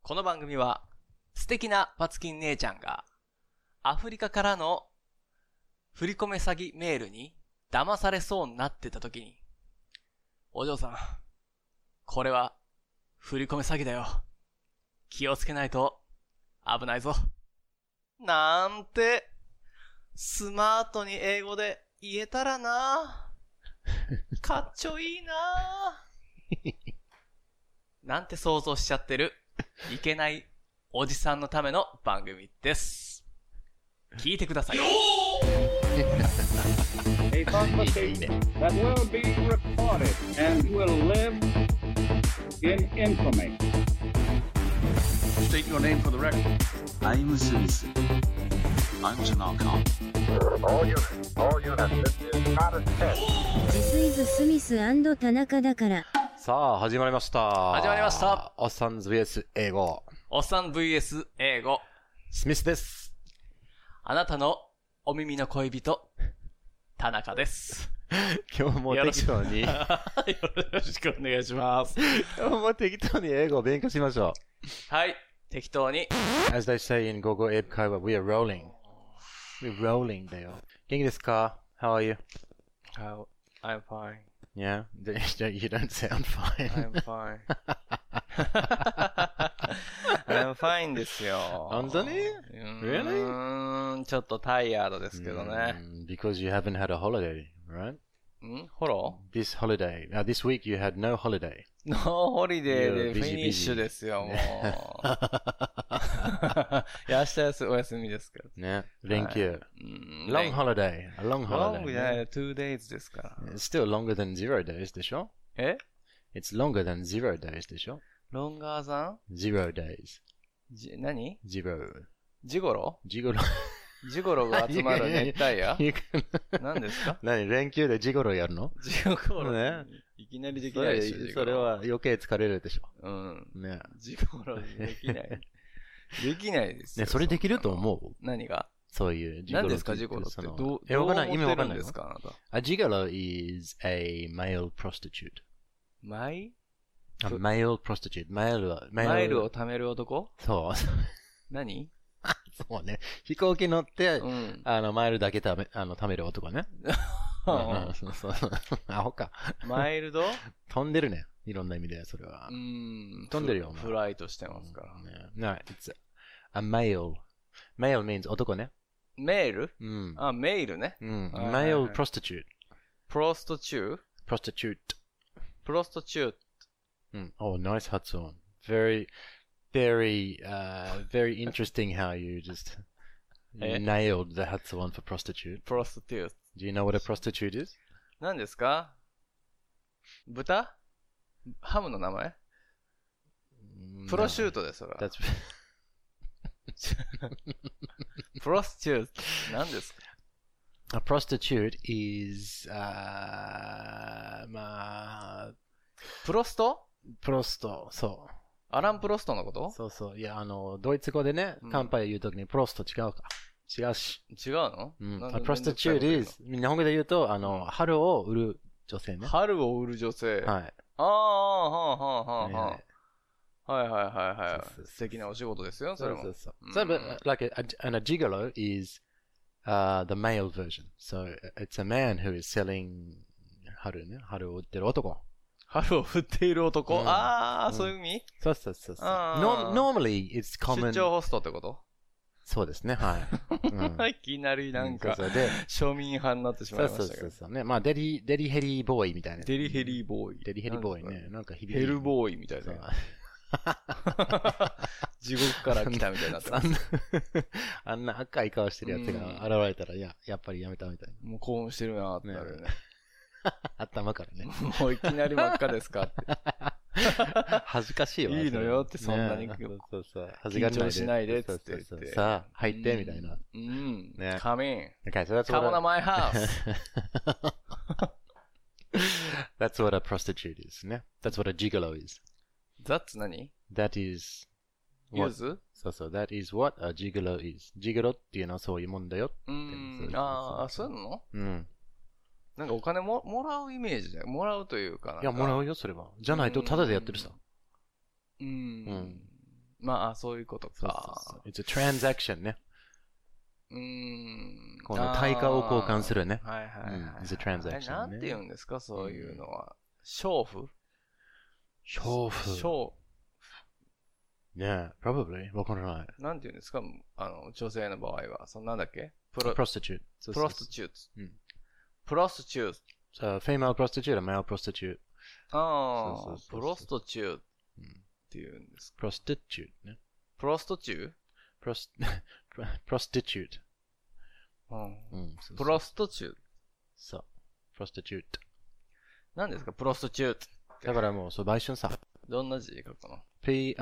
この番組は素敵なパツキン姉ちゃんがアフリカからの振り込め詐欺メールに騙されそうになってた時に、お嬢さん、これは振り込め詐欺だよ。気をつけないと危ないぞ。なんてスマートに英語で言えたらな。かっちょいいな。なんて想像しちゃってるいけないおじさんのための番組です。聞いてください。 A conversation that will be recorded and will live in infamy. State your name for the record. I'm Smith. I'm Tanaka. All units, this is not a test. This is Smith & 田中だから。 さあ、始まりました。 始まりました。 おっさん VS 英語。 おっさん VS 英語。 スミスです。 あなたのお耳の恋人、田中です。 今日も適当に。よろしくお願いします。 今日も適当に英語を勉強しましょう。はい、適当に。 As they say in 午後英会話、we are rolling。We're rolling だよ。元気ですか？ How are you? I'm fine. Yeah? You don't sound fine. I'm fine. I'm fine ですよ。 本当に？ Really? ちょっとタイヤードですけどね。 Because you haven't had a holiday, right? ホロー This holiday. Now this week you had no holiday. No holiday でフィニッシュですよ、もう。いや、明日お休みですけど。 ね。連休。Long holiday. A long holiday. Long じゃない、2 days ですから。 It's still longer than 0 days でしょ？ え？ It's longer than 0 days でしょ？ Longer than? 0 days. 何？ 0. ジゴロ？ ジゴロ。 ジゴロが集まる熱帯夜？何ですか？ 何？連休でジゴロやるの？ ジゴロね。いきなりできないでしょ。 それは余計疲れるでしょ。 うん。 ね。 ジゴロできない。できないですよ。 ね、それできると思う？ 何が？ そういうジゴロ。 何ですか、ジゴロって。どうわかんない。意味わかんないですか、あなた。 A gigolo is a male prostitute. マイ？ A male prostitute. マイルを貯める男？ そう。 何？ そうね。飛行機乗って、マイルだけ貯める男ね。そうそう。アホか。 マイルド？ 飛んでるね。いろんな意味で、それは。飛んでるよ。 フライトしてますから。 No, it's a male. Male means 男ね。 メール？ あ、 メールね。 male prostitute. prostitute? prostitute. prostitute. Oh, nice 発音。Very interesting how you just nailed the 発音 for prostitute. prostitute. Do you know what a prostitute is? 何ですか？豚？ハムの名前？プロシュートです、それは。プロスチュート。何ですか？ A prostitute is, プロスト？ プロスト、そう。 アラン・プロストのこと？ そうそう。いや、ドイツ語でね、乾杯言うときにプロスト違うか。違うし。 違うの？ prostitute is、日本語で言うと、春を売る女性ね。 春を売る女性。 はい。 はいはいはい。素敵なお仕事ですよ、それも。 そう。But like a gigolo is the male version. So it's a man who is selling 春ね。春を売ってる男。 春を売っている男？そういう意味？ そう。Normally it's common. 出張ホストってこと？ そうですね、はい。 いきなりなんか、庶民派になってしまいましたけど。 そうね。まあ、デリヘリボーイみたいな。 デリヘリボーイ。 デリヘリボーイね。なんか響き。 ヘルボーイみたいな。地獄から来たみたいになってます。 あんな赤い顔してるやつが現れたら、やっぱりやめたみたいな。 もう興奮してるなってなるよね。 頭からね。 もういきなり真っ赤ですかって。 恥ずかしいわ。 いいのよってそんなに。 そう。 緊張しないでっつって言って。 さあ、入ってみたいな。 ね。Come in. Okay, so that's Come on to my house. That's what a prostitute is ね。That's what a gigolo is. That's 何？ That is. ユーズ？ そう。That is what a gigolo is. gigolo っていうのはそういうもんだよ。 そういうの？なんかお金もらうイメージだよ。もらうというかなんか。 いや、もらうよ、それは。じゃないと、タダでやってるさ。 まあ、そういうことそうか。 そうそう。It's a transaction ね。この対価を交換するね。 はいはいはい。 It's a transaction ね。 なんて言うんですか、そういうのは。娼婦娼婦。Yeah, probably. わからない。 なんて言うんですか、女性の場合は。なんだっけ prostitute. プロスティチュート。 うん。 プロスティチュート。 female prostitute or male prostitute. ああ、 そうそうそうそうプロストチューっていうんですか。 prostitute ね。 プロストチュー prostitute. プロストチュー。 そう。prostitute. 何ですかプロストチュー。 だからもう、そう、売春さ。 どんな字書くの P-R-O-S-T-I-T-U-T-E.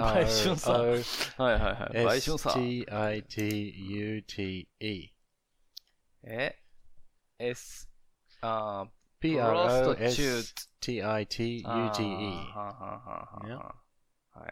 はいはいはい。売春さ。S、 P-R-O-S-T-I-T-U-T-E. はいはいはい。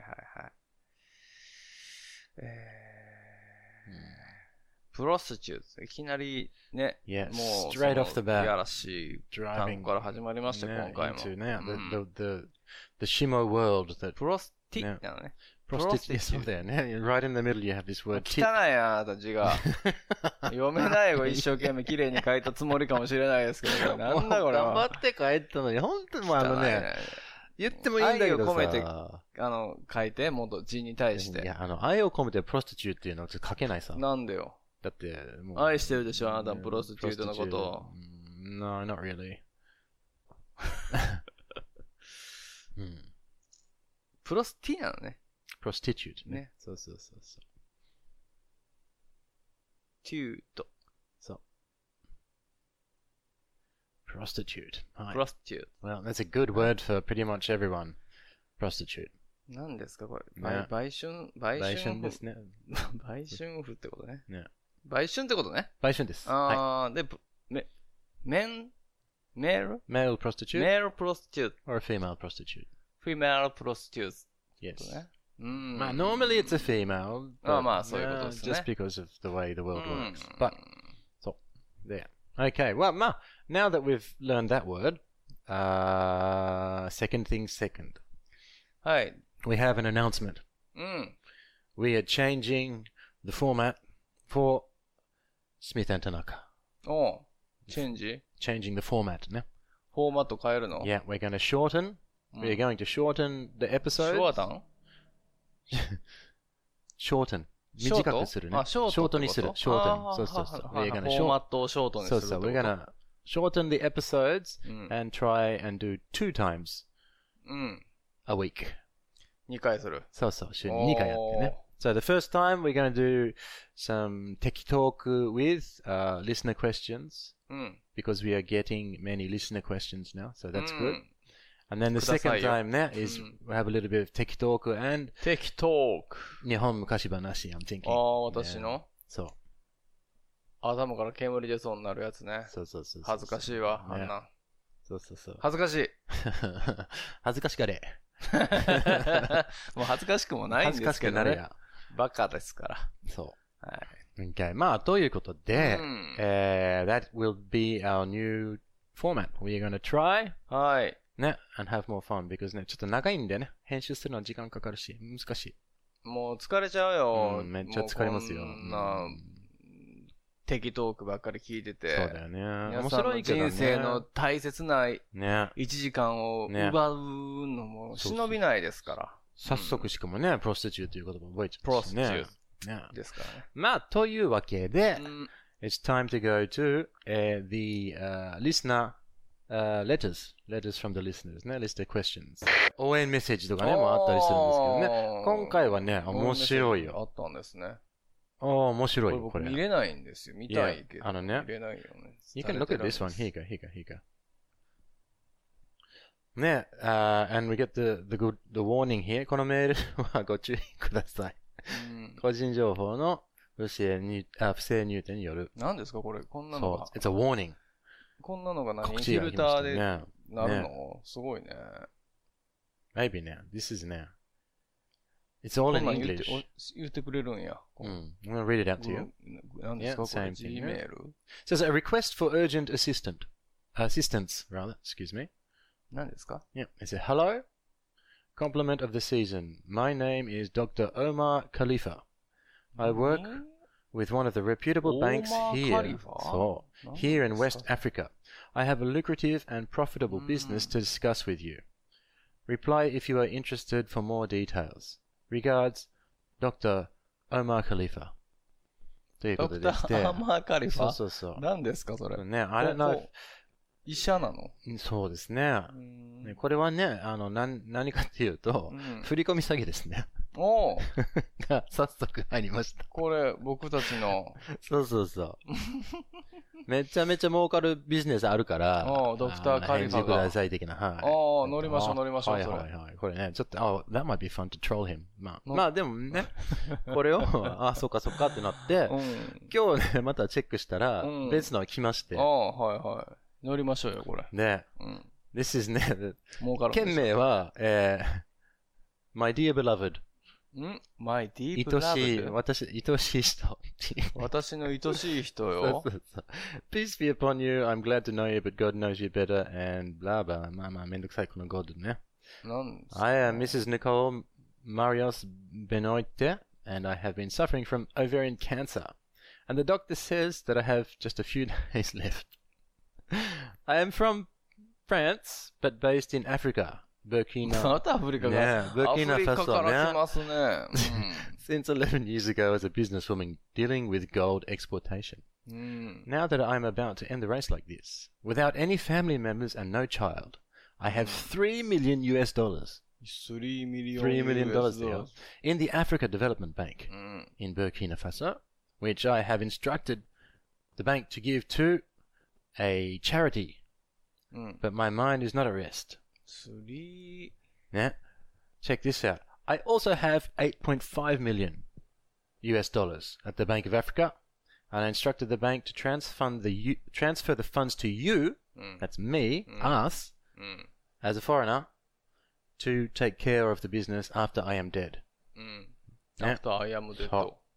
プロスティチュート。いきなりね、もう、 straight off the bat. やらしい単語から始まりました、今回も。 The shimo world that プロスティなのね。 prostitute. そうだよね。Right in the middle you have this word 汚いな、あなた字が。読めないよ、一生懸命綺麗に書いたつもりかもしれないですけど、なんだこれは。 頑張って書いたのに、本当にもうね、言ってもいいんだけどさ。 愛を込めて、書いて、もっと字に対して。 いや、愛を込めてプロスティチューっていうのは書けないさ。 なんでよ。 だって、もう。 愛してるでしょ、あなたプロスティチュートのことを。 No, not really. プロスティなのね。 prostitute ね。そうそうそうそう。 テュート。 そう。prostitute. prostitute. Well, that's a good word for pretty much everyone. prostitute. 何ですかこれ。 ね売春ですね。 売春婦ってことね。 ね。 売春ってことね。 売春です。 で、male prostitute? male prostitute. Or a female prostitute. female prostitute. Yes. ね。 まあ、normally it's a female. まあ、そういうことですね。 just because of the way the world works. But, そう。there. Okay, well, まあ、now that we've learned that word, second thing second. はい。 We have an announcement. We are changing the format for Smith and Tanaka. チェンジ Changing the format, ね。 フォーマット変えるの Yeah, we're going to shorten. We're going to shorten the episodes. ショータン shorten. 短くするね。 ショートにする。 ショート。そうそうそう。 We're gonna フォーマットをショートにする。 そうそう。We're gonna shorten the episodes and try and do 2 times a week. 2回する。 そうそう。週に2回やってね。So the first time we're going to do some tech talk with listener questions because we are getting many listener questions now. So that's good. And then the second time is we have a little bit of tech talk and テキトーク。 日本昔話 I'm thinking. 私のそう。 頭から煙出そうになるやつね。 そうそうそう。 恥ずかしいわ、あんな。 そうそうそう。 恥ずかしい。 恥ずかしがれ。 もう恥ずかしくもないんですけどね。 恥ずかしくなれや。 バカですから。 そう。 はい。 Okay. まあ、ということで、that will be our new format. We are going to try. はい。 ね、and have more fun because ね、ちょっと長いんでね、編集するのは時間かかるし、難しい。 もう疲れちゃうよ。 めっちゃ疲れますよ。 こんな、テキトークばっかり聞いてて。 そうだよね。 面白いけどね。人生の大切な1時間を奪うのも忍びないですから。 早速しかもね、プロスティチューという言葉覚えちゃったしね。 プロスティチューですからね。 まあ、というわけで、it's time to go to the listener letters from the listeners ね、listener questions。応援メッセージとかね、もあったりするんですけどね。今回はね、面白いよ。 あったんですね。 面白いよ、これ。 見れないんですよ。見たいけど。 ね。 見れないよね。 You can look at this one. Here you go. ね、and we get the warning here. このメールはご注意ください。個人情報の不正入店による。 何ですかこれ、こんなのが。 そう、it's a warning. こんなのが何フィルターでなるのすごいね。 Maybe ね。This is ね。It's all in English. 言ってくれるんや。 I'm gonna read it out to you. 何ですかこれ Gmail? It says a request for urgent assistance, excuse me. 何ですか Yeah. It says, hello. Compliment of the season. My name is Dr. Omar Khalifa. I work with one of the reputable banks here. So, here in West Africa. I have a lucrative and profitable business to discuss with you. Reply if you are interested for more details. Regards, Dr. Omar Khalifa. ということでして。 ドクター・アーマー・カリファ。 そうそうそう。 何ですか、それ。 ね、I don't know if... 医者なの？ そうですね。これはね、何かっていうと、振り込み詐欺ですね。 おが、早速入りました。 これ、僕たちの。 そうそうそう。めちゃめちゃ儲かるビジネスあるから、 ドクターカリファが。返事ください的な。はい。 乗りましょう、乗りましょう。 はいはいはい。これね、ちょっと、that might be fun to troll him. まあでもね、これを、そっかそっかってなって、今日ね、またチェックしたら、別のが来まして。 はいはい。乗りましょうよ、これ。 ね。This is ね、 儲かる。 件名は、My dear beloved. My dear beloved? 愛しい人。 私の愛しい人よ。 そうそうそう。Peace be upon you. I'm glad to know you, but God knows you better. And blah blah. まあめんどくさい、この God ね。 なんですか I am Mrs. Nicole Marios Benoite, and I have been suffering from ovarian cancer. And the doctor says that I have just a few days left. I am from France, but based in Africa. Burkina. またアフリカが。 Burkina アフリカから来ますね。 Since 11 years ago as a businesswoman dealing with gold exportation. Now that I'm about to end the race like this, without any family members and no child, I have $3 million. $3 million $3 in the Africa Development Bank in Burkina Faso, which I have instructed the bank to give to a charity. But my mind is not at rest. Yeah. Check this out. I also have $8.5 million at the Bank of Africa, and I instructed the bank to transfer the funds to you, that's me, us, as a foreigner, to take care of the business after I am dead. After I am dead.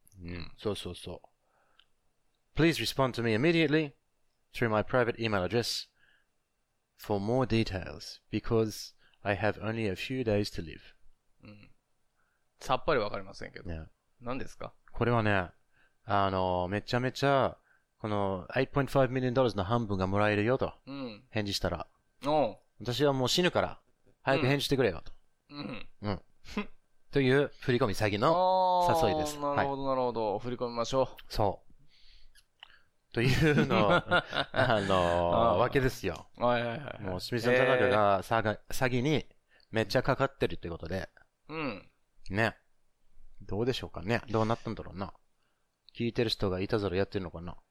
So. Please respond to me immediately through my private email address for more details, because I have only a few days to live. さっぱりわかりませんけど。何ですか？ これはね、めちゃめちゃ、この$8.5 millionの半分がもらえるよと、返事したら、私はもう死ぬから、早く返事してくれよと。という振り込み詐欺の誘いです。 なるほど、なるほど。振り込みましょう。 そう。というの、わけですよ。もう、スミス&タナカが詐欺にめっちゃかかってるってことで。ね。どうでしょうかね。どうなったんだろうな。聞いてる人がいたずらやってるのかな。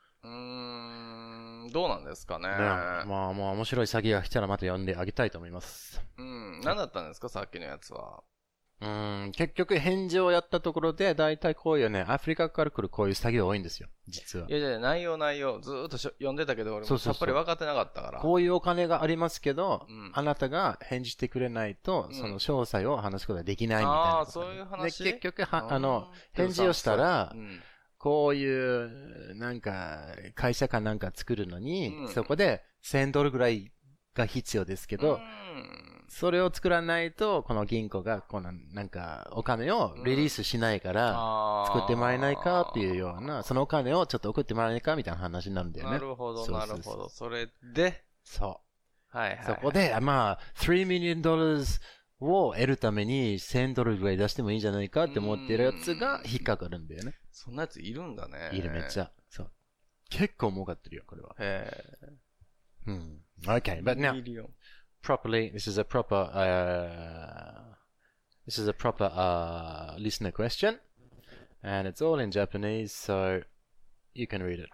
どうなんですかね。 まあ面白い詐欺が来たらまた呼んであげたいと思います。 何だったんですか、さっきのやつは。 結局返事をやったところで、だいたいこういうね、アフリカから来るこういう詐欺が多いんですよ、実は。 いや、内容、ずーっと読んでたけど、俺もさっぱり分かってなかったから。 こういうお金がありますけど、あなたが返事してくれないと、その詳細を話すことができないみたいな。 そういう話で、結局、返事をしたら、こういう、なんか、会社かなんか作るのに、そこで$1000ぐらいが必要ですけど、それを作らないと、この銀行が、なんか、お金をリリースしないから、作ってもらえないかっていうような、そのお金をちょっと送ってもらえないかみたいな話になるんだよね。 なるほど、なるほど。それで、 そう。 はい。 そこで、まあ、$3 millionを得るために$1000ぐらい出してもいいんじゃないかって思ってるやつが引っかかるんだよね。 そんなやついるんだね。 いる、めっちゃ。そう。結構儲かってるよ、これは。Okay, but now, properly, this is a proper listener question, and it's all in Japanese, so you can read it.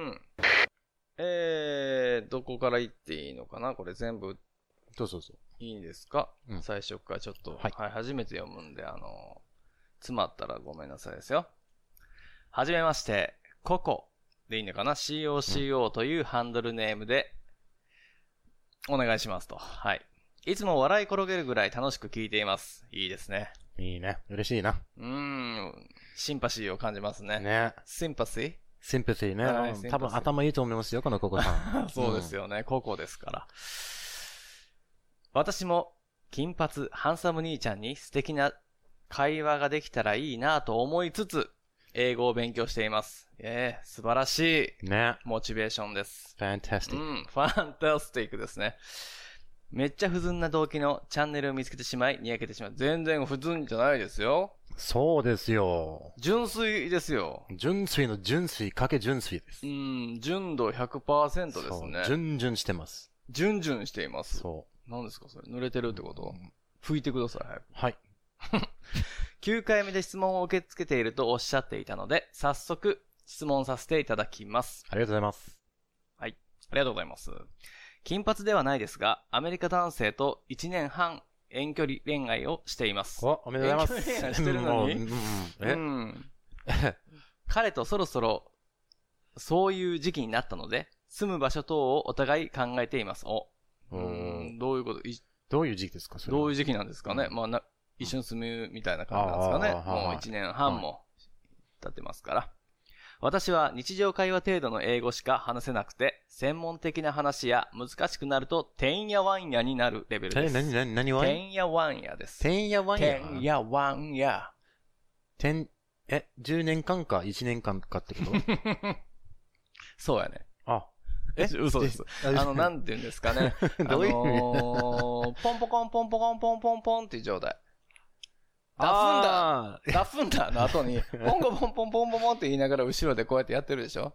どこから言っていいのかな、これ全部。 そう。 いいんですか、最初からちょっと、初めて読むんで、詰まったらごめんなさいですよ。はじめまして、ココでいいのかな ?COCO というハンドルネームで、お願いしますと。はい。いつも笑い転げるぐらい楽しく聞いています。いいですね。 いいね。嬉しいな。 シンパシーを感じますね。 ね。 シンパシーね。多分頭いいと思いますよ、このココさん。 そうですよね。ココですから。私も金髪ハンサム兄ちゃんに素敵な会話ができたらいいなと思いつつ、英語を勉強しています。素晴らしい。 ね。 モチベーションです。 fantastic。 ファンタスティックですね。めっちゃ不純な動機のチャンネルを見つけてしまい、にやけてしまう。全然不純じゃないですよ。 そうですよ。 純粋ですよ。 純粋の純粋かけ純粋です。 純度 100% ですね。 純々してます。 純々しています。 そう。 何ですかそれ？濡れてるってこと？拭いてください。 はい。 9回目で質問を受け付けているとおっしゃっていたので、早速質問させていただきます。 ありがとうございます。 はい。ありがとうございます。金髪ではないですが、アメリカ男性と1年半遠距離恋愛をしています。 おめでとうございます。 遠距離恋愛してるのに彼とそろそろそういう時期になったので、住む場所等をお互い考えています。どういうこと？ どういう時期ですか？ どういう時期なんですかね。一緒に住むみたいな感じなんですかね。もう1年半も経ってますから。私は日常会話程度の英語しか話せなくて、専門的な話や難しくなると、てんやわんやになるレベルです。 何ワン？ てんやわんやです。 てんやわんや？ てんやわんや。 10年間か1年間かってことそうやね。嘘です。なんて言うんですかね。 どういう意味ポンポコンポンポコンポンポンポンっていう状態。ダフンダの後に、ポンコポンポンポンポンって言いながら後ろでこうやってやってるでしょ？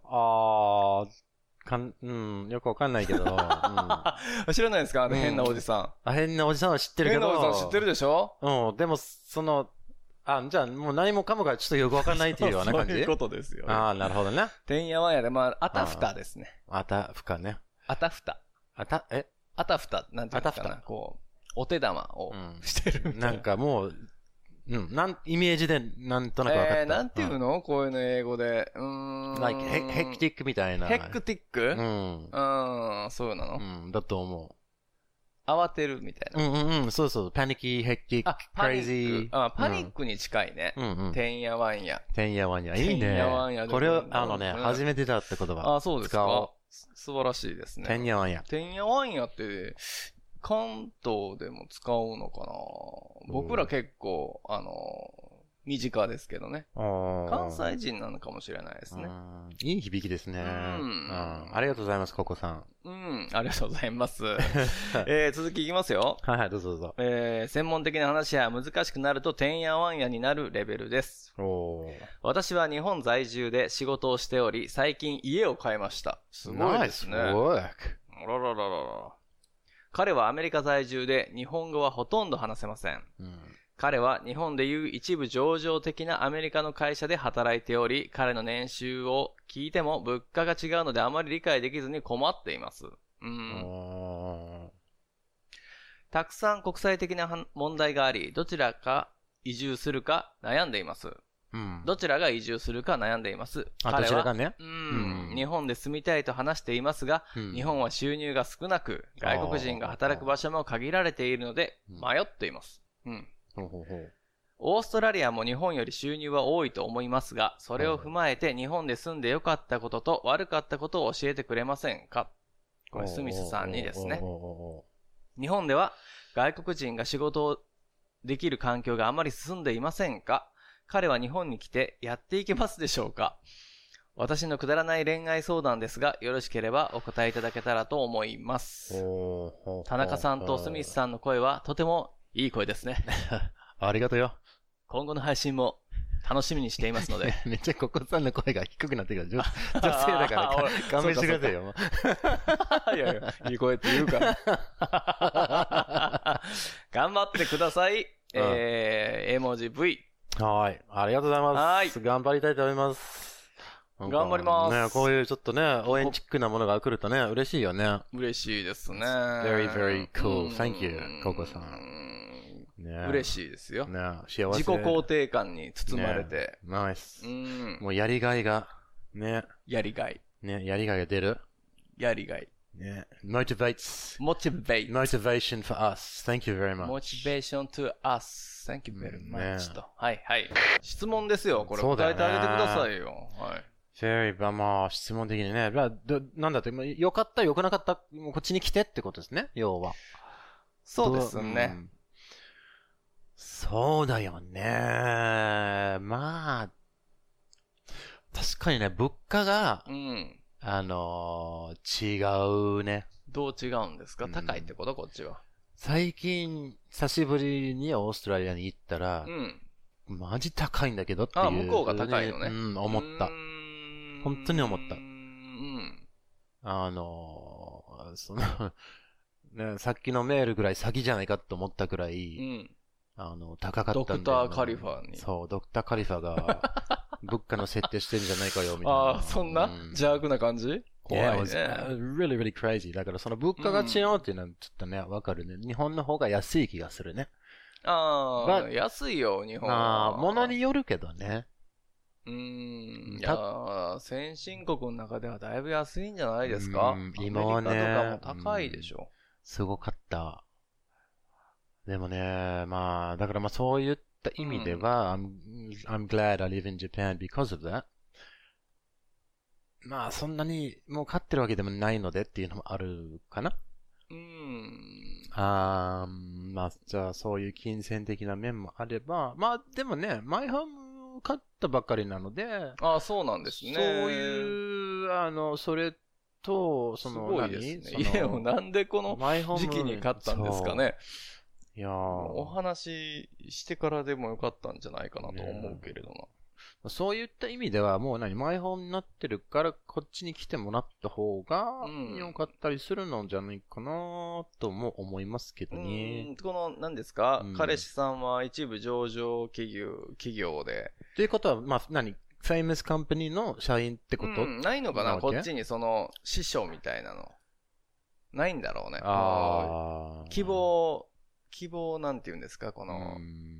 よくわかんないけど。 知らないですか？変なおじさん。 変なおじさんは知ってるけど。 変なおじさん知ってるでしょ？ でも、じゃあもう何もかもがちょっとよくわかんないっていうような感じ？ そういうことですよ。 なるほどね。 てんやわんやで、あたふたですね。 あたふかね。 あたふた。あたふた、なんていうのかな。こう、お手玉をしてるみたいな。 なんかもう、イメージでなんとなくわかった。 なんていうの？こういうの英語で。 like, ヘクティックみたいな。 ヘクティック？そうなの？ だと思う。 慌てるみたいな。 そうそう。パニック、ヘクティック、クレイジー。 パニックに近いね。てんやわんや。 てんやわんや。いいね。 てんやわんや。 これを、初めてだって言葉。 そうですか。素晴らしいですね。 てんやわんや。 てんやわんやって、関東でも使うのかな？僕ら結構、身近ですけどね。関西人なのかもしれないですね。 いい響きですね。ありがとうございます、ココさん。 ありがとうございます。続きいきますよ。 はい、どうぞどうぞ。 専門的な話や難しくなるとてんやわんやになるレベルです。私は日本在住で仕事をしており、最近家を買いました。すごいですね。彼はアメリカ在住で日本語はほとんど話せません。彼は日本でいう一部上場的なアメリカの会社で働いており、彼の年収を聞いても物価が違うのであまり理解できずに困っています。たくさん国際的な問題があり、どちらが移住するか悩んでいます。どちらが移住するか悩んでいます。 どちらがね。 日本で住みたいと話していますが、日本は収入が少なく、外国人が働く場所も限られているので、迷っています。オーストラリアも日本より収入は多いと思いますが、それを踏まえて日本で住んで良かったことと悪かったことを教えてくれませんか？これスミスさんにですね。日本では外国人が仕事をできる環境があまり進んでいませんか？彼は日本に来てやっていけますでしょうか？私のくだらない恋愛相談ですが、よろしければお答えいただけたらと思います。田中さんとスミスさんの声はとてもいい声ですね。 ありがとうよ。今後の配信も楽しみにしていますので。 めっちゃココさんの声が低くなってくる。女性だから勘弁してくださいよ。 いやいや、いい声って言うから。頑張ってください。絵文字 V。 はい。ありがとうございます。頑張りたいと思います。 頑張ります。 ね、こういうちょっとね、応援チックなものが来るとね、嬉しいよね。 嬉しいですね。 very, very cool. Thank you, ココさん。 嬉しいですよ。 幸せ。 自己肯定感に包まれて。 ナイス。もうやりがいが、ね。 やりがい。 ね、やりがいが出る。 やりがい。 ね。motivation for us. Thank you very much. motivation to us. Thank you very much. と。はいはい。質問ですよ。これ答えてあげてくださいよ。はい。 まあ、質問的にね。なんだって、良かった、良くなかった、こっちに来てってことですね、要は。 そうですね。 そうだよね。まあ、確かにね、物価が、 うん。 違うね。 どう違うんですか？高いってことこっちは。 最近、久しぶりにオーストラリアに行ったらう、ん。 マジ高いんだけどっていう。 あ、向こうが高いのね。 うん、思った。本当に思った。 うん。 ね、さっきのメールぐらい詐欺じゃないかと思ったくらうい、 ん。 高かったんだよ、ね。 ドクターカリファに。 そう、ドクターカリファが、物価の設定してんじゃないかよ、みたいな。 ああ、そんな邪悪な感じ怖い Yeah, ね。 it was really, really crazy. だからその物価が違うっていうのはちょっとね、わかるね。日本の方が安い気がするね。 ああ、安いよ、日本は。 まあ、物によるけどね。 いやー、先進国の中ではだいぶ安いんじゃないですか？ 今はね、 アメリカとかも高いでしょ。 すごかった。でもね、まあ、だからまあそういった意味では、I'm glad I live in Japan because of that. まあ、そんなにもう買ってるわけでもないのでっていうのもあるかな。まあ、じゃあそういう金銭的な面もあれば、まあでもね、マイホーム買ったばっかりなので、 ああ、そうなんですね。 そういう、それと、 すごいですね。家をなんでこの時期に買ったんですかね。 いやお話ししてからでもよかったんじゃないかなと思うけれどな。 そういった意味ではもうマイホームになってるからこっちに来てもらった方が良かったりするのじゃないかなとも思いますけどね。 この何ですか、彼氏さんは一部上場企業で。 ということは、まあフェイマスカンパニーの社員ってこと、 ないのかなこっちにその師匠みたいなの。ないんだろうね。希望なんて言うんですかこの、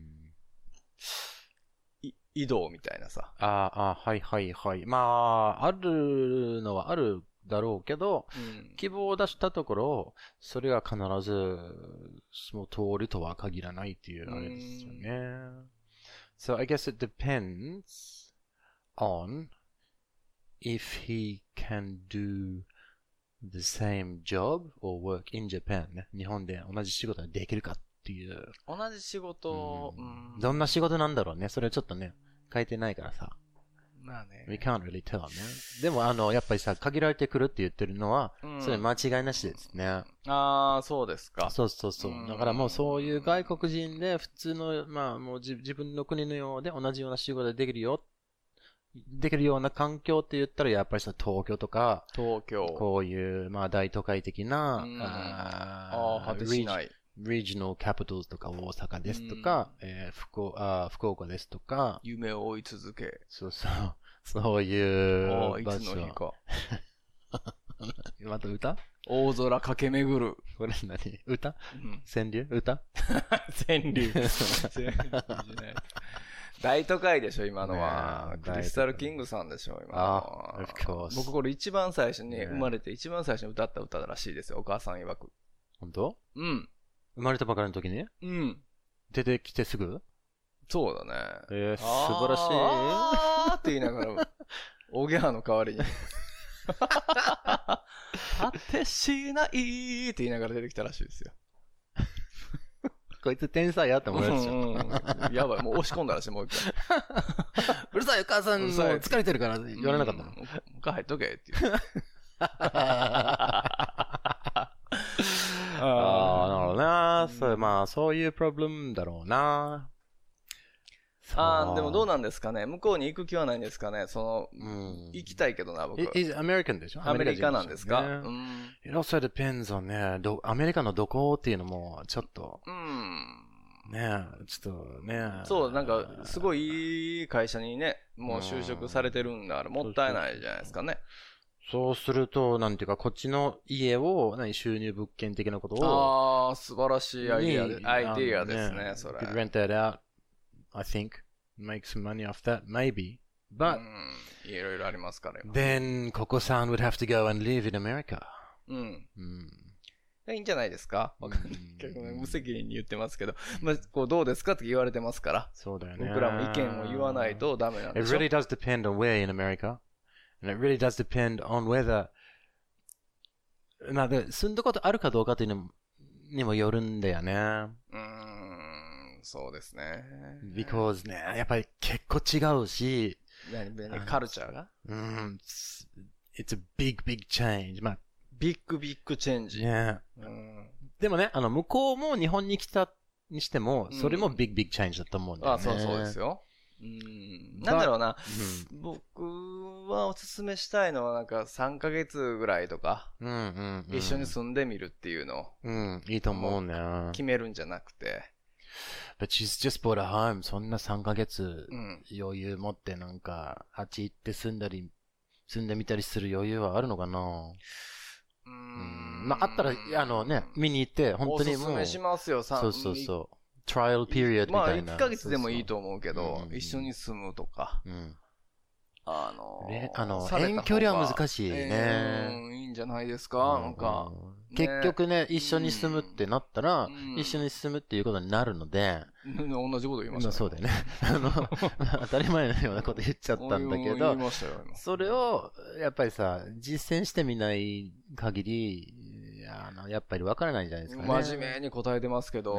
移動みたいなさ。 はいはいはい。まあ、あるのはあるだろうけど、希望を出したところ、それが必ず、その通りとは限らないっていうあれですよね。So I guess it depends on if he can do the same job or work in Japan ね。日本で同じ仕事ができるかっていう。 同じ仕事、 どんな仕事なんだろうね。それちょっとね、書いてないからさ。 まあね。 We can't really tell ね。でもやっぱりさ、限られてくるって言ってるのは、それ間違いなしですね。 ああ、そうですか。 そう。だからもうそういう外国人で普通の、まあもう自分の国のようで同じような仕事ができるような環境って言ったら、やっぱりさ、東京とか、こういう、まあ大都会的な、 果てしない。 regional capitals とか大阪ですとか、福岡ですとか、 夢を追い続け。 そういう場所。 いつの日か。 また歌？ 大空駆け巡る。 これ何？歌？川柳？歌？ 川柳。大都会でしょ、今のは。クリスタルキングさんでしょ、今のは。僕これ一番最初に生まれて一番最初に歌った歌らしいですよ、お母さん曰く。 本当？生まれたばかりの時に？出てきてすぐ？ そうだね。 素晴らしい。 あーって言いながら、おぎゃーの代わりに。果てしないって言いながら出てきたらしいですよ。 こいつ天才やって思うやつじゃん。 やばい、もう押し込んだらしい、もう一回。 うるさい、お母さん、もう疲れてるから言われなかったの。 もう一回入っとけって言う。 なるほどな。そういうプロブレムだろうな。 でもどうなんですかね。向こうに行く気はないんですかね。行きたいけどな、僕。 アメリカンでしょ？ アメリカなんですか？ It also depends on ね、アメリカのどこっていうのも、ちょっと。ねちょっとね。 そう、なんか、すごいいい会社にね、もう就職されてるんだから、もったいないじゃないですかね。 そうすると、なんていうか、こっちの家を、収入物件的なことを。 素晴らしいアイディアですね、それ。 You could rent that out, I think. Make some money off that, maybe. But, いろいろありますからよ。 Then, Koko-san would have to go and live in America. いいんじゃないですか？結構無責任に言ってますけど。どうですかって言われてますから。 そうだよね。 僕らも意見を言わないとダメなんでしょ。 It really does depend on where in America.And it really does depend on whether 住んだことあるかどうかというのにもよるんだよね。 そうですね。 because ね、やっぱり結構違うし、 カルチャーが it's a big change. まあ、 ビッグチェンジ。 ね、でもね、向こうも日本に来たにしても、それもビッグチェンジだと思うんだよね。 そうですよ。なんだろうな、僕はおすすめしたいのはなんか3ヶ月ぐらいとか、一緒に住んでみるっていうのを、 いいと思うね。 決めるんじゃなくて。 But she's just bought a home. そんな3ヶ月余裕持ってなんか、あっち行って住んでみたりする余裕はあるのかな？まあ、あったら、見に行って、本当にもう。おすすめしますよ、 そう。トライアルピリオドみたいな。 まあ、1ヶ月でもいいと思うけど、一緒に住むとか。 遠距離は難しいね。 いいんじゃないですか、なんか。 結局ね、一緒に住むってなったら、一緒に住むっていうことになるので。 同じこと言いましたね。 そうだよね。当たり前のようなこと言っちゃったんだけど、それを、やっぱりさ、実践してみない限り、やっぱり分からないんじゃないですかね。 真面目に答えてますけど。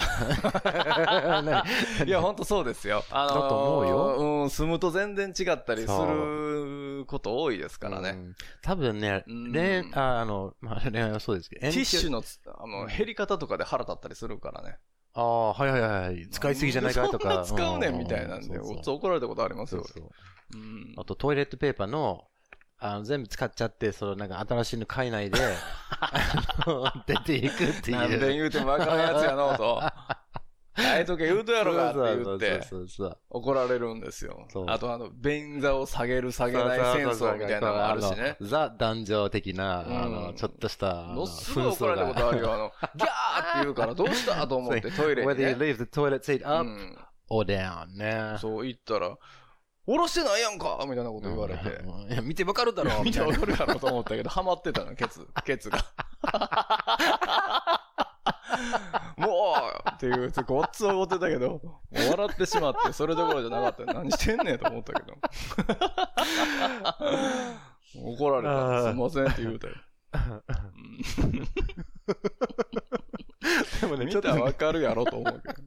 いや、ほんとそうですよ。 だと思うよ。 住むと全然違ったりすること多いですからね。 多分ね、恋愛はそうですけど、 ティッシュの減り方とかで腹立ったりするからね。 はい。使いすぎじゃないかとか。 そんな使うねんみたいなんで、怒られたことありますよ。 あとトイレットペーパーの、全部使っちゃって、なんか新しいの買えないで、出ていくっていう。 何遍言うても分からんやつやのうと。変えとけ言うとやろがって言って、怒られるんですよ。あと便座を下げる下げない戦争みたいなのがあるしね。 ザ男女的な、ちょっとした、 すごい怒られたことあるよ。ギャーって言うから、どうしたと思ってトイレにね。 Whether you leave the toilet seat up or down ね。 そう言ったら、下ろしてないやんかみたいなこと言われて。 いや、見てわかるだろ見てわかるやろと思ったけど、ハマってたの、ケツが。もうっていう、ごっつ怒ってたけど、笑ってしまって、それどころじゃなかった。何してんねんと思ったけど。怒られた。すいませんって言うたよ。でもね、見たらわかるやろと思うけど。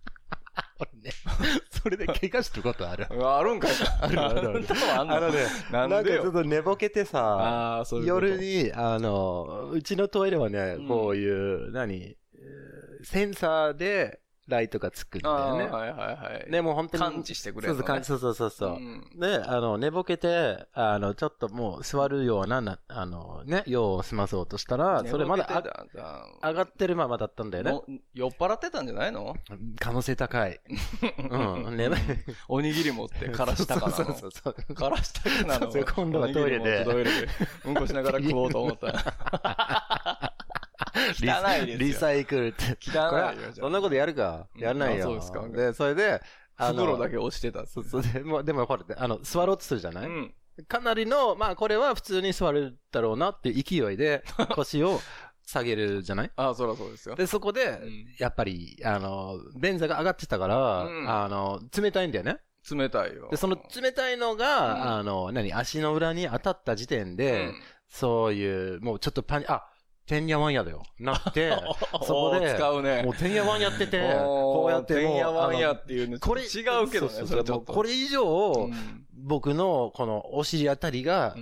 それで怪我したことある。 あるんかい。ある。 なんかちょっと寝ぼけてさ、夜に、うちのトイレはね、こういう、センサーでライトがつくんだよね。でも本当に。 感知してくれるのね。 そう。で、寝ぼけて、ちょっともう座るような、用を済まそうとしたら、それまだ上がってるままだったんだよね。 酔っ払ってたんじゃないの？ 可能性高い。 おにぎり持ってからしたかなの。 そう。 からしたかなの。 今度はトイレで。 うんこしながら食おうと思った。汚いですよ。 リサイクルって。 汚いよ。 そんなことやるか？やらないよ。 そうですか。 で、それで、 袋だけ落ちてた。 そう。でもほら、座ろうとするじゃない？かなりの、まあこれは普通に座るだろうなっていう勢いで腰を下げるじゃない？ そらそうですよ。 で、そこで、やっぱり、便座が上がってたから、冷たいんだよね。 冷たいよ。 で、その冷たいのが、足の裏に当たった時点で、そういう、もうちょっとてんやわんやだよ。なって、そこで、 使うね。 もうてんやわんやってて、こうやってもう、 てんやわんやっていうの、これ違うけどね、それちょっと。 これ以上、僕のこのお尻あたりが、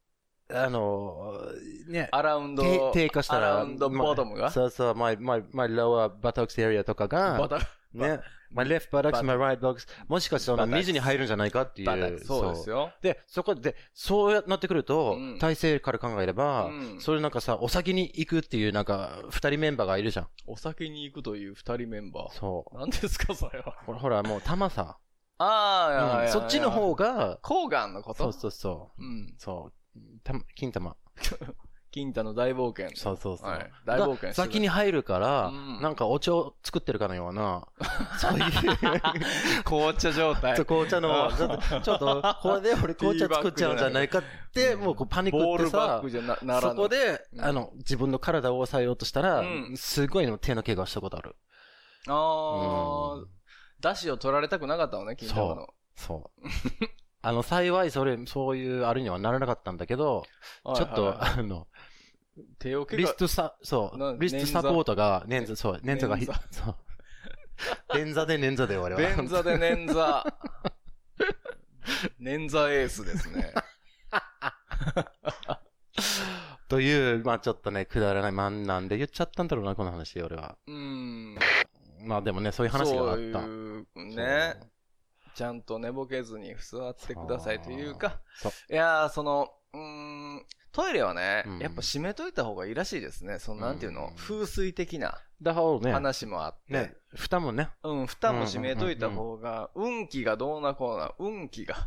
アラウンド、 低下したら、 アラウンドボトムがそう、my lower buttocks area とかが、ね、my left buttocks, my right buttocks、もしかしたら水に入るんじゃないかっていう。 そうですよ。 で、そこで、そうなってくると、体勢から考えれば、それなんかさ、お先に行くっていうなんか、二人メンバーがいるじゃん。 お先に行くという二人メンバー。 そう。 何ですか、それは。 ほら、もう玉さ。 そっちの方が、 睾丸のこと？ そう。そう。金玉。 金太の大冒険。 そう。 大冒険。 先に入るから、なんかお茶を作ってるかのような、そういう。 紅茶状態。 紅茶の、ちょっと、これで俺紅茶作っちゃうんじゃないかって、もうパニックってさ、そこで、自分の体を抑えようとしたら、すごいの手の怪我したことある。 出汁を取られたくなかったのね、金太の。 そう。幸いそういうあれにはならなかったんだけど、ちょっと、 手をリストサポートが、捻挫が、そう。 便座で捻挫で俺は。 便座で捻挫。捻挫エースですね。 という、まあちょっとね、くだらない。まあなんで言っちゃったんだろうな、この話、俺は。まあでもね、そういう話があった。 そういうね。ちゃんと寝ぼけずに座ってくださいというか。いやー、トイレはね、やっぱ閉めといた方がいいらしいですね。なんていうの、風水的な話もあって。 ね、蓋もね。 蓋も閉めといた方が、運気がどうなこうな、運気が。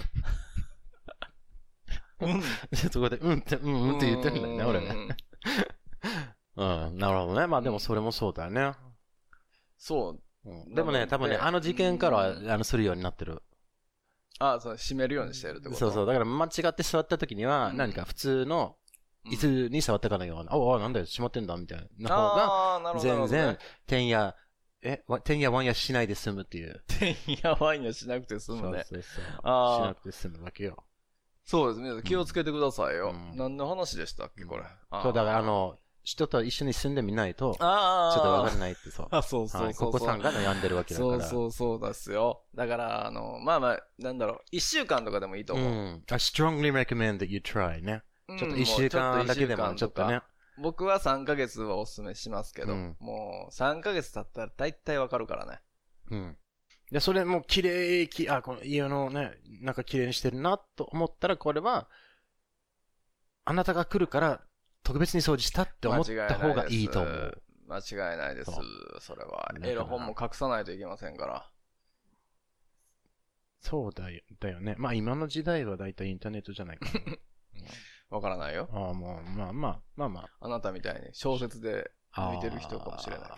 そこで、って言ってるんだよね、俺ね。なるほどね。まあでもそれもそうだよね。 そう。 でもね、多分ね、あの事件からは、するようになってる。 閉めるようにしてるってこと？ そうそう。だから間違って座った時には、何か普通の椅子に座ったかのような、なんだよ、閉まってんだ、みたいな方が、全然、てんやわんやしないで済むっていう。 てんやわんやしなくて済むね。 そう。しなくて済むわけよ。 そうですね。気をつけてくださいよ。何の話でしたっけ、これ。 そう、だから人と一緒に住んでみないと、ちょっとわからないってそう。 そう。 ここさんが悩んでるわけだから。 そうですよ。だから、まあ、なんだろう、1週間とかでもいいと思う。 I strongly recommend that you try ね。ちょっと1週間だけでもちょっとね。 僕は3ヶ月はおすすめしますけど、もう3ヶ月経ったら大体わかるからね。 で、それも綺麗、この家のね、なんか綺麗にしてるなと思ったら、これは、あなたが来るから、特別に掃除したって思った方がいいと思う。 間違いないです。それは。エロ本も隠さないといけませんから。 そうだよね。まあ今の時代はだいたいインターネットじゃないかな。 わからないよ。 もう、まあ。 あなたみたいに小説で向いてる人かもしれないから。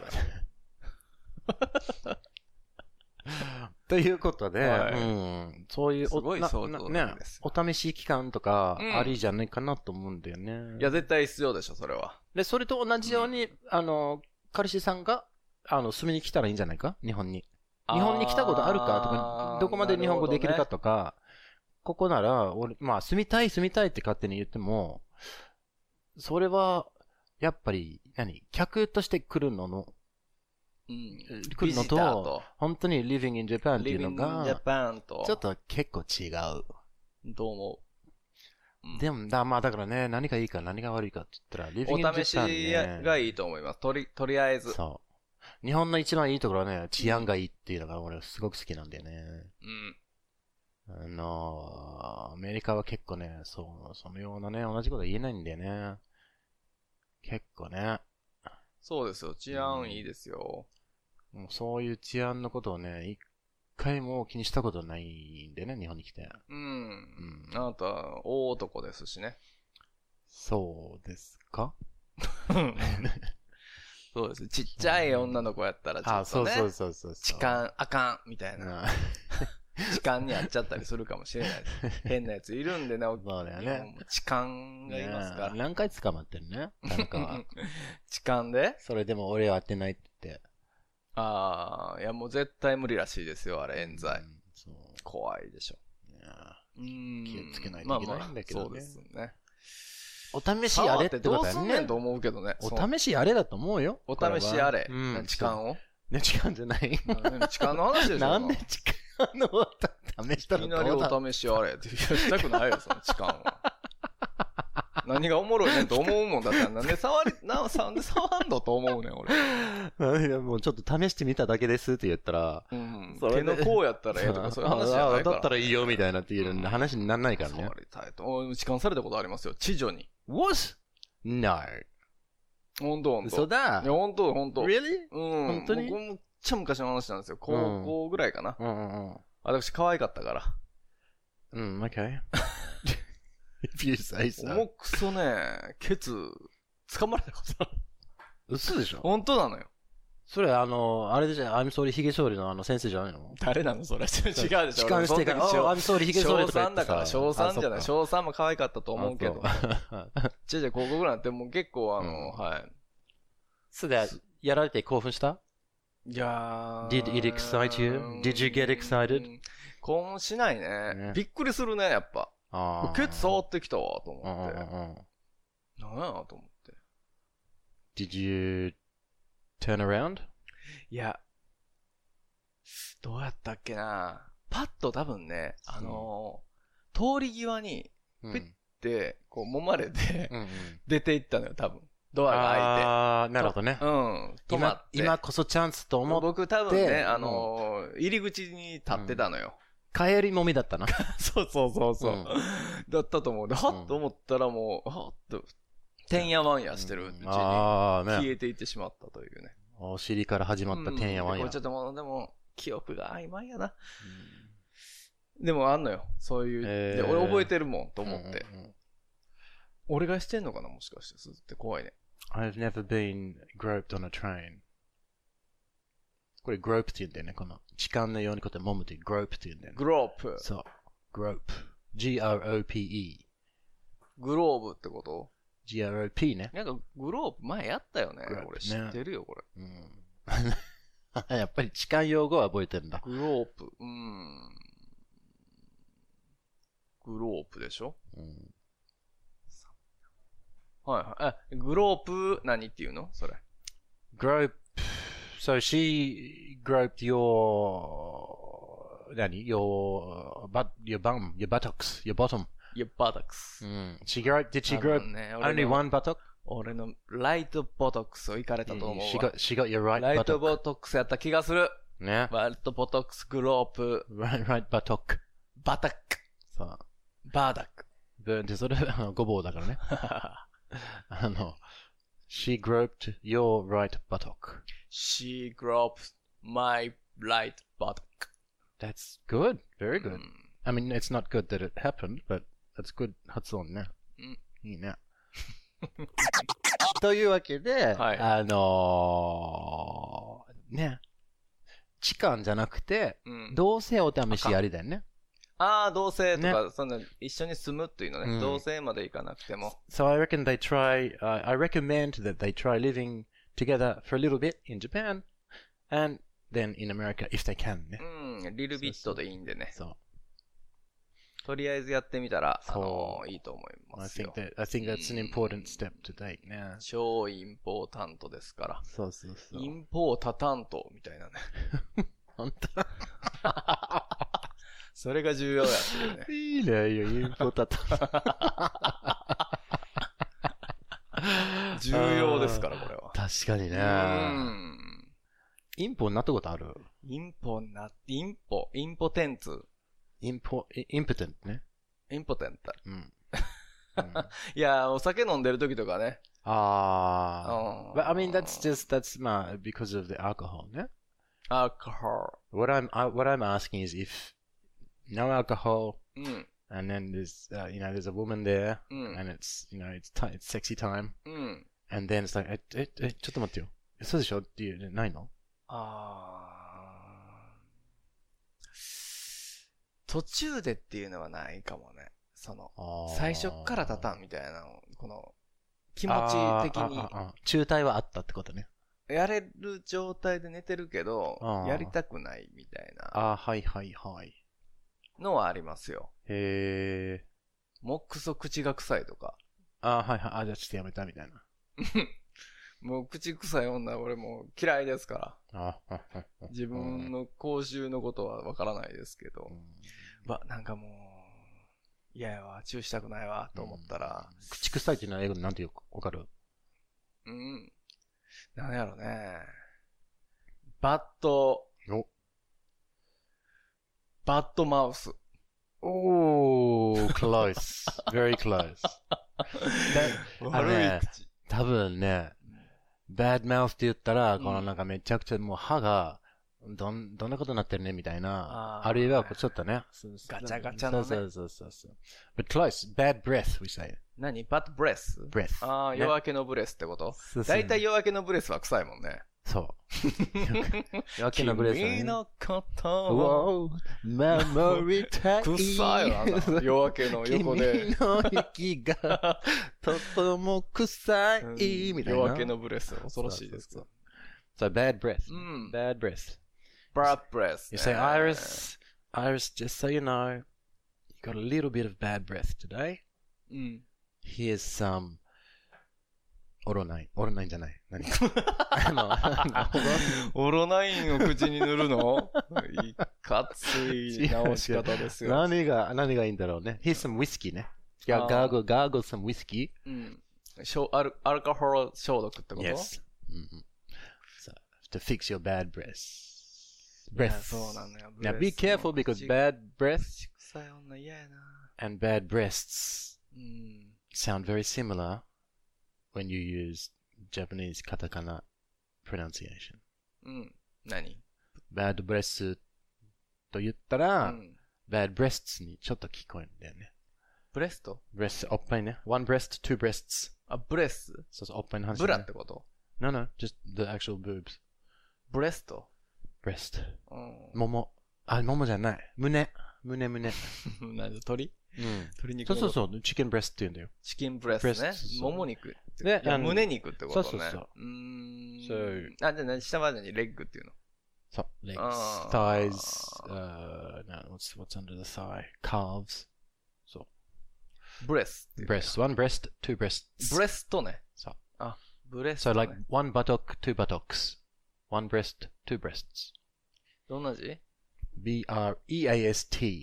ということで、そういうお試し期間とかありじゃないかなと思うんだよね。 いや、絶対必要でしょ、それは。 で、それと同じように、彼氏さんが、住みに来たらいいんじゃないか日本に。日本に来たことあるかとか、どこまで日本語できるかとか、ここなら、まあ、住みたいって勝手に言っても、それは、やっぱり、客として来るの来るのと、本当に living in Japan っていうのが、ちょっと結構違う。 どう思う？でも、まあだからね、何がいいか何が悪いかって言ったら、living in Japan ね。 お試しがいいと思います。とりあえず。 そう。日本の一番いいところはね、治安がいいっていうのが俺すごく好きなんだよね。アメリカは結構ね、そのようなね、同じこと言えないんだよね。結構ね。 そうですよ。治安いいですよ。 もうそういう治安のことをね、一回も気にしたことないんでね、日本に来て。 あなた、大男ですしね。 そうですか？ そうです。ちっちゃい女の子やったらちょっとね。 そう。 痴漢あかん、みたいな。痴漢にやっちゃったりするかもしれないです。変なやついるんでね、 そうだよね。 痴漢がいますから。 何回捕まってるね、なんか。 痴漢で？ それでも俺は当てないって言って。 いやもう絶対無理らしいですよ、あれ、冤罪。怖いでしょ。 気をつけないといけないんだけどね。 そうですね。 お試しやれってことだよね。 どうすんねんと思うけどね。 お試しやれだと思うよ。 お試しやれ。痴漢を？ ね、痴漢じゃない。 痴漢の話でしょ。 なんで痴漢の試したの？ いきなりお試しやれって言いたくないよ、その痴漢を。何がおもろいねんと思うもんだったら、なんで触んのと思うねん、俺。 もうちょっと試してみただけですって言ったら、 手のこうやったらええとかそういう話じゃないから。 だったらいいよみたいなっていう話にならないからね。 触りたいと。痴漢されたことありますよ、知女に。 What? No. ほんと。 嘘だ。 いや、ほんと。 Really? 本当に僕もめっちゃ昔の話なんですよ。高校ぐらいかな。私可愛かったから。 okay. If you say so. 重くそね、ケツ、掴まれたことある。 嘘でしょ？ 本当なのよ。 それあれでしょ、I'm sorry ヒゲ剃りの先生じゃないの？ 誰なのそれ。違うでしょ。 痴漢してから、I'm sorry ヒゲ剃りとか言ってさ。 小3だから、小3じゃない。小3も可愛かったと思うけど。高校ぐらいってもう結構はい。 それで、やられて興奮した？ いやー。 Did it excite you? Did you get excited? 興奮しないね。びっくりするね、やっぱ。ケツ触ってきたわ、と思って。なんやと思って。 Did you turn around? いや、 どうやったっけな。パッと多分ね、通り際に、ピッて、こう揉まれて、出て行ったのよ、多分。ドアが開いて。 ああ、なるほどね。 うん。止まって。 今こそチャンスと思って。 僕多分ね、入り口に立ってたのよ。 帰りもみだったな。 そう。だったと思う。で、はっと思ったらもう、はっと、てんやわんやしてるうちに、消えていってしまったというね。 お尻から始まったてんやわんや。 ちょっともう、でも、記憶が曖昧やな。でもあんのよ。そういう。で俺覚えてるもん、と思って。俺がしてんのかなもしかして。すって怖いね。 I've never been groped on a train. これ grope って言うんだよね。この痴漢のようにこうやって揉むって grope って言うんだよね。 グロープ。 そう。grope. G-R-O-P-E. グローブってこと G-R-O-P ね。 なんかグローブ前やったよね。俺知ってるよ、これ。 やっぱり痴漢用語は覚えてるんだ。 グロープ。グロープでしょはい。グロープ何っていうのそれ。 grope. So she groped your your bum, your buttocks, your bottom. Your buttocks. Did she grope only one buttock? 俺のライトボトックスを行かれたと思うわ。 She got your right buttock. ライトボトックスやった気がする。 ね。 ライトボトックス、グロープ。 right buttock. バタック。 そう。 バーダック。 で、それごぼうだからね。She groped your right buttock. She groped my right buttock. That's good. Very good. I mean, it's not good that it happened, but that's good 発音ね。いいね。というわけで、ね、痴漢じゃなくて、同棲お試しやりだよね。 ああ、同棲とか、そんな、一緒に住むっていうのね。同棲まで行かなくても。 So I reckon they try, I recommend that they try living together for a little bit in Japan, and then in America if they can ね。 リルビットでいいんでね。 そう。 とりあえずやってみたら、いいと思いますよ。 I think that's an important step to take ね。 超インポータントですから。 そう。 インポータタントみたいなね。 本当それが重要やっていうね。 いいね、インポータタント。重要ですから、これは。 確かにね。インポになったことある？ インポテンツ。 インポテントね。 インポテント。いや、お酒飲んでる時とかね。 But I mean, that's because of the alcohol, ね。 Alcohol. What I'm asking is if no alcohol, and then there's there's a woman there, and it's it's sexy time, and then it's like ちょっと待ってよ。そうでしょっていうないの？ 途中でっていうのはないかもね。最初っから立たんみたいなこの気持ち的に。 中退はあったってことね。 やれる状態で寝てるけど、やりたくないみたいな。 はい。 のはありますよ。 へー。 もっくそ口が臭いとか。 じゃあちょっとやめたみたいな。 もう口臭い女俺もう嫌いですから。自分の口臭のことはわからないですけど。なんかもう、嫌やわ、チューしたくないわ、と思ったら。 口臭いっていうのは英語でなんて言うかわかる？ なんやろね。バッドマウス。 close. Very close. 悪い口。 多分ね、bad mouth って言ったら、このなんかめちゃくちゃもう歯が、どんなことになってるねみたいな。あるいはちょっとね。 ガチャガチャのね。 そう。But close. Bad breath, we say. 何 ?bad breath? breath. 夜明けのブレスってことだいたい夜明けのブレスは臭いもんね。 そう。夜明けのブレスはね。 君のことを守りたい。 臭いわな。夜明けの横で。 君の息がとても臭い。みたいな。 夜明けのブレス。恐ろしいです。 So bad breath. Bad breath. Bad breath. You say, Iris, just so you know, you got a little bit of bad breath today. Here's some オロナインじゃない。何オロナインを口に塗るのいかつい直し方ですよ。 何がいいんだろうね。Here's some whiskey ね。gargle some whiskey. うん。アルコール消毒ってこと Yes. So, to fix your bad breath. そうなんだよ。 Now be careful because bad breath 臭い女嫌やな。 and bad breasts sound very similar when you use Japanese katakana pronunciation. 何 bad breasts と言ったら、bad breasts にちょっと聞こえるんだよね。 ブレスト breast おっぱいね。one breast, two breasts. あ、ブレスそうそう、おっぱいの話、ね。 ブラってこと No, just the actual boobs. ブレスト breast. ももじゃない。胸。 何鳥鶏肉そう。チキンブレストって言うんだよ。 チキンブレストね。もも肉。 ね、 胸肉ってことね。 そう。 じゃあ下までにレッグっていうの。 そう。legs, thighs, what's under the thigh? Calves. そう。 ブレス。 breast, one breast, two breasts. ブレストね。 そう。 あ、ブレスト、 ね。So like one buttock, two buttocks. One breast, two breasts. どんな字 B-R-E-A-S-T.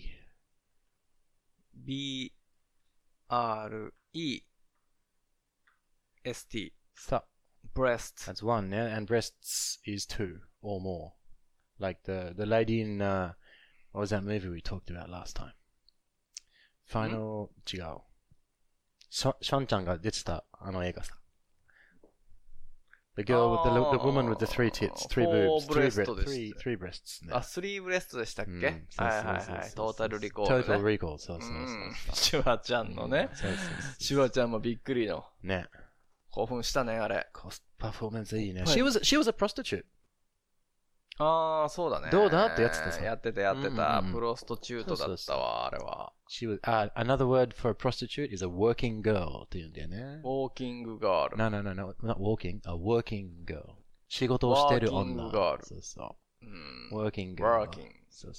B-R-E-S-T. So. Breast. That's one, yeah? And breasts is two or more. Like the lady in, what was that movie we talked about last time? Final, 違う。ションちゃんが出てた、あの映画さ。The girl with the woman with the three tits, three boobs, three breasts. あ、3ブレストでしたっけはい。トータルリコール、ね。 トータルリコール、そう。 シュワちゃんのね。シュワちゃんもびっくりの。 ね。 興奮したね、あれ。 コストパフォーマンスいいね。She was a prostitute. ああ、そうだね。 どうだってやってたさ。 やってた。プロストチュートだったわ、あれは。 She was, another word for a prostitute is a working girl って言うんだよね。 working girl. No, not walking, a working girl. 仕事をしてる女。 working girl. そうそう。working girl. working. そう。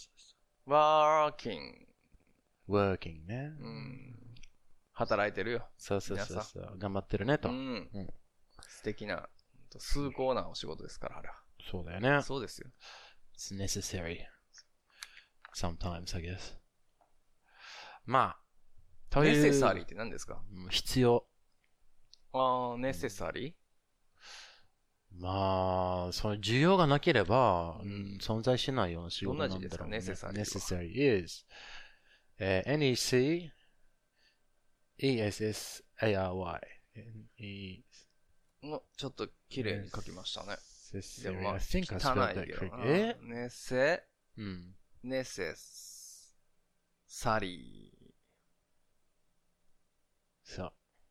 working ね。 働いてるよ。 そう。頑張ってるねと。 素敵な、崇高なお仕事ですから、あれは。 そうだよね。 そうですよ。 It's necessary. Sometimes, I guess. まあ、という。 necessary って何ですか？ 必要。 necessary？ まあ、その需要がなければ、存在しないような仕事なんだろうね。 どんな字ですか？ necessary is N-E-C-E-S-S-A-R-Y。 ちょっと綺麗に書きましたね。 でもまあ、I think I spelled that correctly. ネセサリー。 そう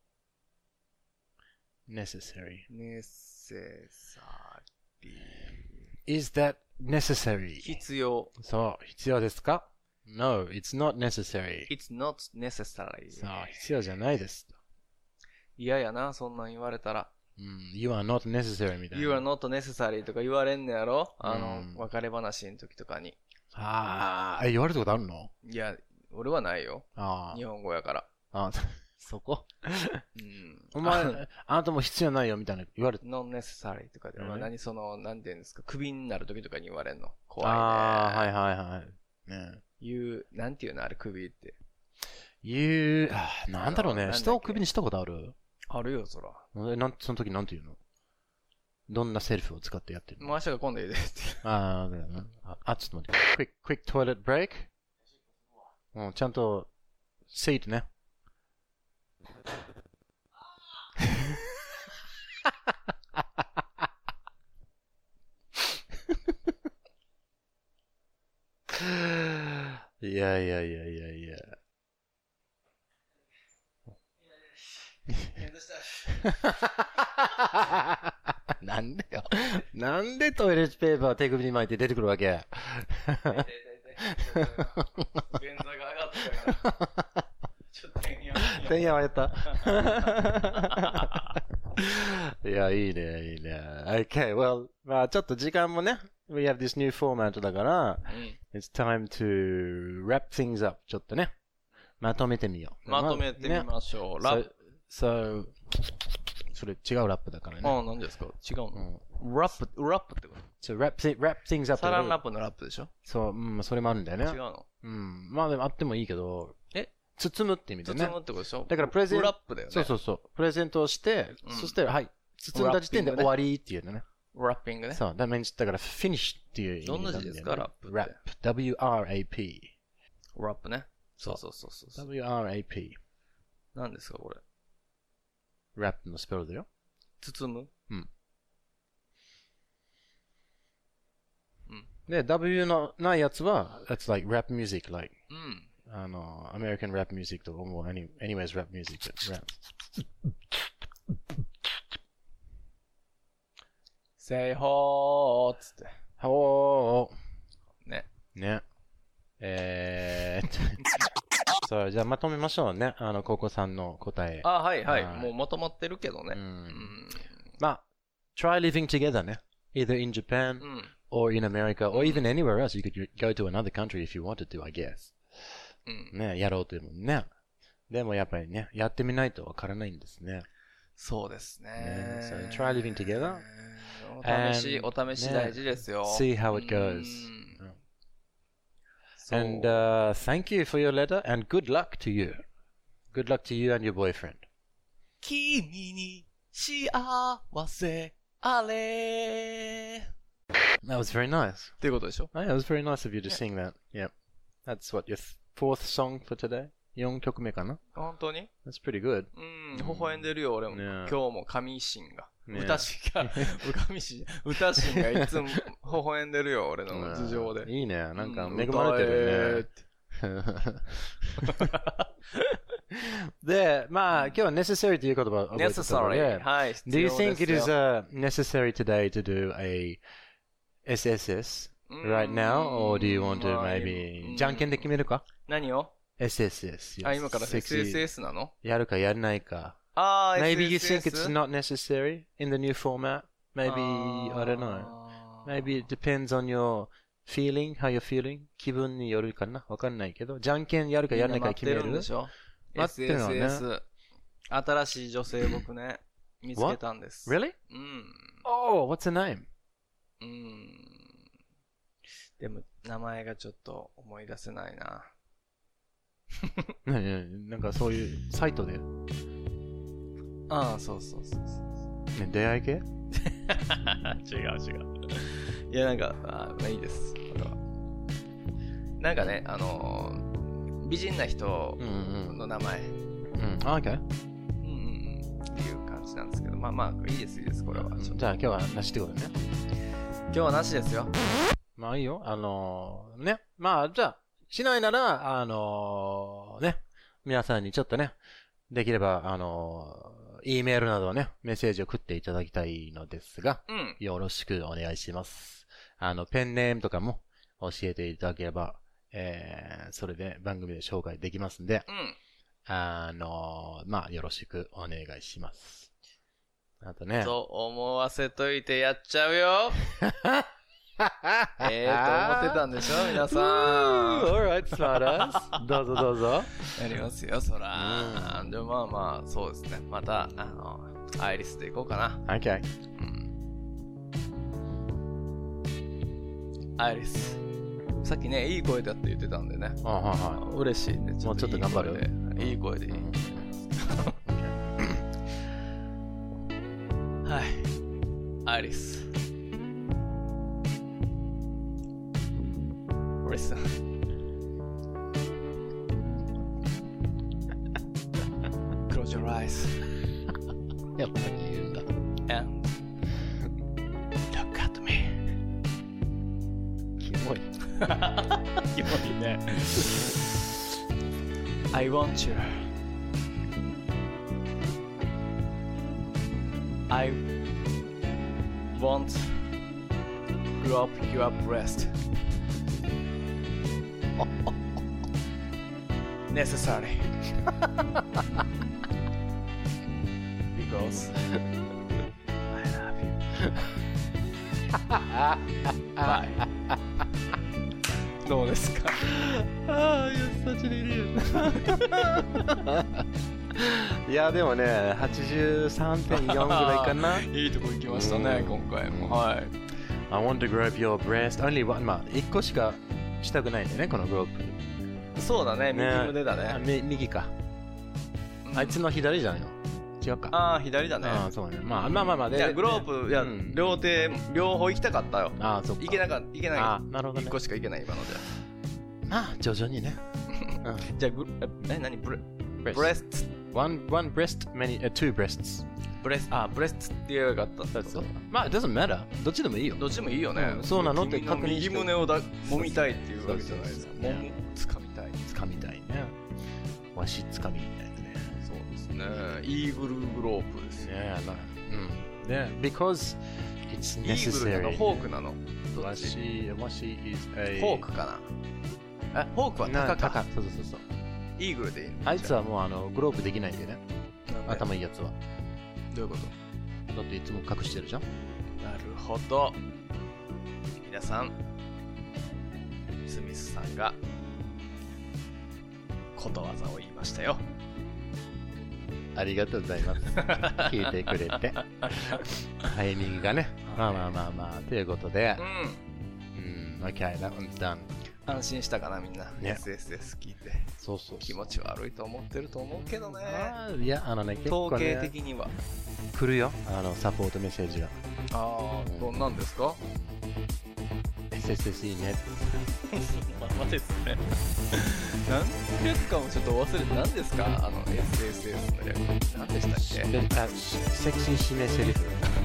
。necessary. ネセサリー。 Is that necessary? 必要。 そう、必要ですか？ No, it's not necessary. It's not necessary. そう、必要じゃないです。 嫌やな、そんなん言われたら。 You are not necessary みたいな。 You are not necessary とか言われんねやろ？別れ話の時とかに。 言われたことあるの？ いや、俺はないよ。日本語やから。 そこお前、あなたも必要ないよみたいな言われて。 non necessary とかで、なんて言うんですか、クビになる時とかに言われんの。怖いね。 はい。ね。 なんて言うのあれ、クビって。 なんだろうね。人をクビにしたことある？ あるよ、そら。 その時なんて言うの？どんなセリフを使ってやってるの？ もう明日が今度言うでって。 だよな。ちょっと待って。quick toilet break? ちゃんと、seat ね。いや。なんでよ。なんでトイレットペーパー手首に巻いて出てくるわけ？ 便座が上がったから。ちょっとてんやわやった。いや、いいね。Okay, well, まあちょっと時間もね、we have this new format だから、it's time to wrap things up ちょっとね、まとめてみよう。 まとめてみましょう。 So, それ違うラップだからね。 ああ、何ですか違うの、ラップってこと So wrap things up. サランラップのラップでしょそう、それもあるんだよね。 違うのまあでもあってもいいけど、包むって意味でね。 包むってことでしょだからプレゼント。 ラップだよね。 そう。プレゼントをして、そして、はい、包んだ時点で終わりっていうのね。 ラッピングね。 そう、だから finish っていう意味どんななんだよね。 字ですかラップって。 Wrap。W-R-A-P。 ラップね。そう。 W-R-A-P。 何ですかこれ。 ラップのスペルだよ。 包むで、W のないやつは、that's like rap music, like, American rap music とかもう anyways rap music, rap. Say ho つって。 ほー。 ね。 そう、じゃあまとめましょうね。ココさんの答え。 はい。もうまとまってるけどね。 まあ、try living together ね。either in Japan, or in America, or even anywhere else. You could go to another country if you wanted to, I guess. ね、やろうというもんね。でもやっぱりね、やってみないとわからないんですね。 そうですね。 So try living together. お試し大事ですよ。 See how it goes. And thank you for your letter and good luck to you. Good luck to you and your boyfriend. 君に幸せあれ That was very nice. っていうことでしょ Oh, yeah, it was very nice of you to sing that. Yep. That's what, your fourth song for today? 4曲目かな？ 本当に That's pretty good. 微笑んでるよ、俺も。今日も神心が。歌心がいつも微笑んでるよ、俺の頭上で。 いいね。なんか恵まれてるね。で、まあ、今日は necessary という言葉を覚えてたので。 はい。 Do you think it is necessary today to do a SSS right now? Or do you want to maybe じゃんけんで決めるか？ 何を SSS. 今から SSS なの？ やるかやらないか。Maybe you think it's not necessary in the new format. Maybe, I don't know. Maybe it depends on your feeling, how you're feeling. 気分によるかなわかんないけど。じゃんけんやるかやらないか決める。 待ってるんでしょ？ 待ってるのね。 SSS。新しい女性僕ね、見つけたんです。 Really? Oh, what's her name? でも、名前がちょっと思い出せないな。 なんかそういうサイトで。 そう。 ね、出会い系？ 違う。いや、なんか、まあいいです。これは。なんかね、美人な人の名前。 OK。 っていう感じなんですけど、まあ、いいです、これは。 じゃあ今日はなしってことね。 今日はなしですよ。 まあいいよ。ね。まあ、じゃあ、しないなら、ね。皆さんにちょっとね、できれば、E メールなどね、メッセージを送っていただきたいのですが、よろしくお願いします。ペンネームとかも教えていただければ、それで番組で紹介できますんで、まあ、よろしくお願いします。あとね。 と思わせといてやっちゃうよ。と思ってたんでしょ皆さん。 Alright, smartass. どうぞ。 やりますよ、そら。でもまあ、そうですね。また、アイリスでいこうかな。 Okay. アイリス。さっきね、いい声だって言ってたんでね。嬉しいね。 もうちょっと頑張る。 いい声でいい。はい。アイリス。Listen. Close your eyes. やっぱり言うんだ。 And look at me. キモい。 キモいね。I want you. I want rub your breast. Necessary. Because I love you. Bye. どうですか you're such an idiot. いやでもね 83.4 ぐらいかな。 いいとこ行きましたね、今回も。はい。 I want to grab your breast. Only one. まあ1個しかしたくないんだよねこのグロープ。 そうだね、右胸だね。 右か。あいつの左じゃないの？違うか。 ああ、左だね。 ああ、そうね。まあで。 いや、グロープ、いや、両手、両方行きたかったよ。 ああ、そっか。 いけない。 ああ、なるほどね。 1個しかいけない、今ので。 まあ、徐々にね。 じゃあ、何ブレスト one breast, two breasts. ブレストって言えばよかったってこと？ まあ、it doesn't matter. どっちでもいいよ。 どっちでもいいよね。 そうなのって確認して。 右胸を揉みたいっていうわけじゃないですか。つかみたい。 つかみたいね。わしつかみみたいなね。 そうですね。イーグルグロープですね。 ね、because it's necessary. イーグルなの？ホークなの？ わし is a ホークかな？ホークは高か。 そう。 イーグルでいいの？ あいつはもうグロープできないんだよね。頭いいやつは。 どういうこと？ だっていつも隠してるじゃん。 なるほど。皆さん、スミスさんがことわざを言いましたよ。 ありがとうございます。聞いてくれて。タイミングがね。まあ。ということで。Okay, that one's done. 安心したかな、みんな。 ね。 SSS 聞いて。 そう。 気持ち悪いと思ってると思うけどね。 いや、結構ね。 統計的には。 来るよ。サポートメッセージが。 ああ、どんなんですか？ SSS いいね。 ままですね。何略かもちょっと忘れて、何ですかSSS の略。何でしたっけ？ セクシー締めセリフ。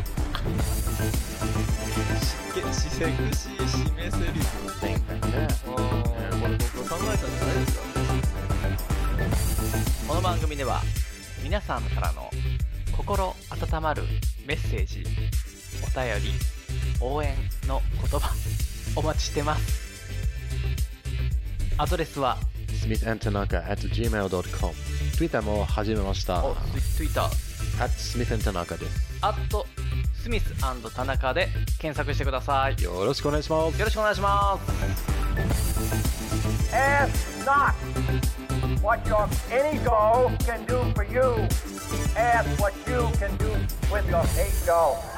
セクシー締めセリフ。 前回ね。 これ僕が考えたんじゃないですか？この番組では皆さんからの心温まるメッセージ、お便り、応援の言葉お待ちしてます。アドレスは smithandtanaka@gmail.com。 Twitter も始めました。 Twitter @smithandtanaka です。 スミス&田中で検索してください。 よろしくお願いします。 よろしくお願いします。 Ask not what your ego can do for you. Ask what you can do with your ego.